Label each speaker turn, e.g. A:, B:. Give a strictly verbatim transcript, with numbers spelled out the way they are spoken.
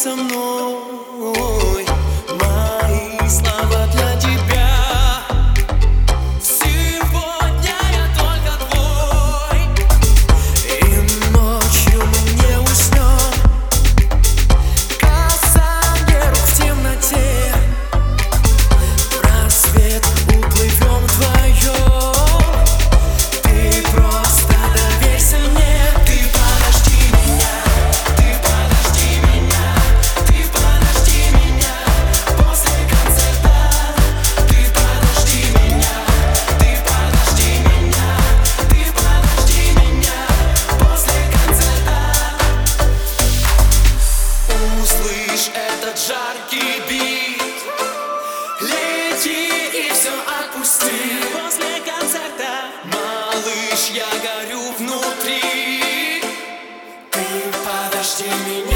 A: со мной. Мои слова для тебя. Сегодня я только твой. И ночью мы не уснем. Касание рук в темноте. В рассвет уплывем вдвоем. Ты просто доверься мне. Ты подожди меня. Ты подожди меня. Ты подожди меня. После концерта. Ты подожди меня. Ты подожди меня. Ты подожди меня. После концерта. Услышь этот жаркий бит. Лети и все отпусти. После концерта, малыш, я горю внутри. Ты подожди меня.